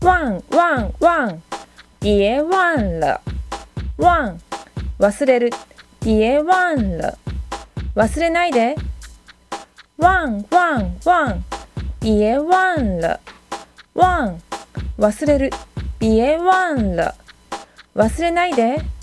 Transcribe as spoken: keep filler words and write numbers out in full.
忘忘忘，别忘了。忘、忘れる。别忘了。忘れないで。忘忘忘、别忘了。忘、忘れる。别忘了。忘れないで。